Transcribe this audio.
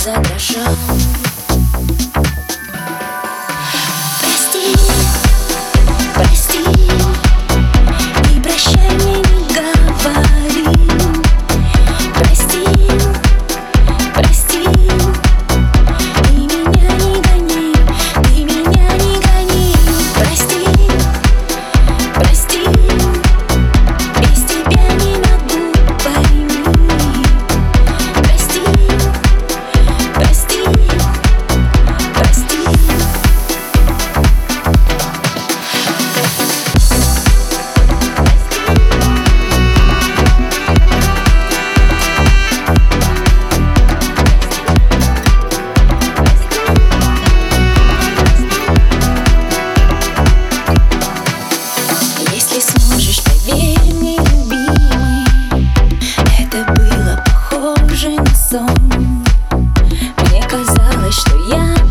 задрожал. Прости, прости, и прощай мне не говори. Прости, прости, ты меня не гони, ты меня не гони. Прости, прости, без тебя не могу, пойми. Прости, прости, прости. Если сможешь, поверь мне, любимый, это было похоже на сон. Мне казалось, что я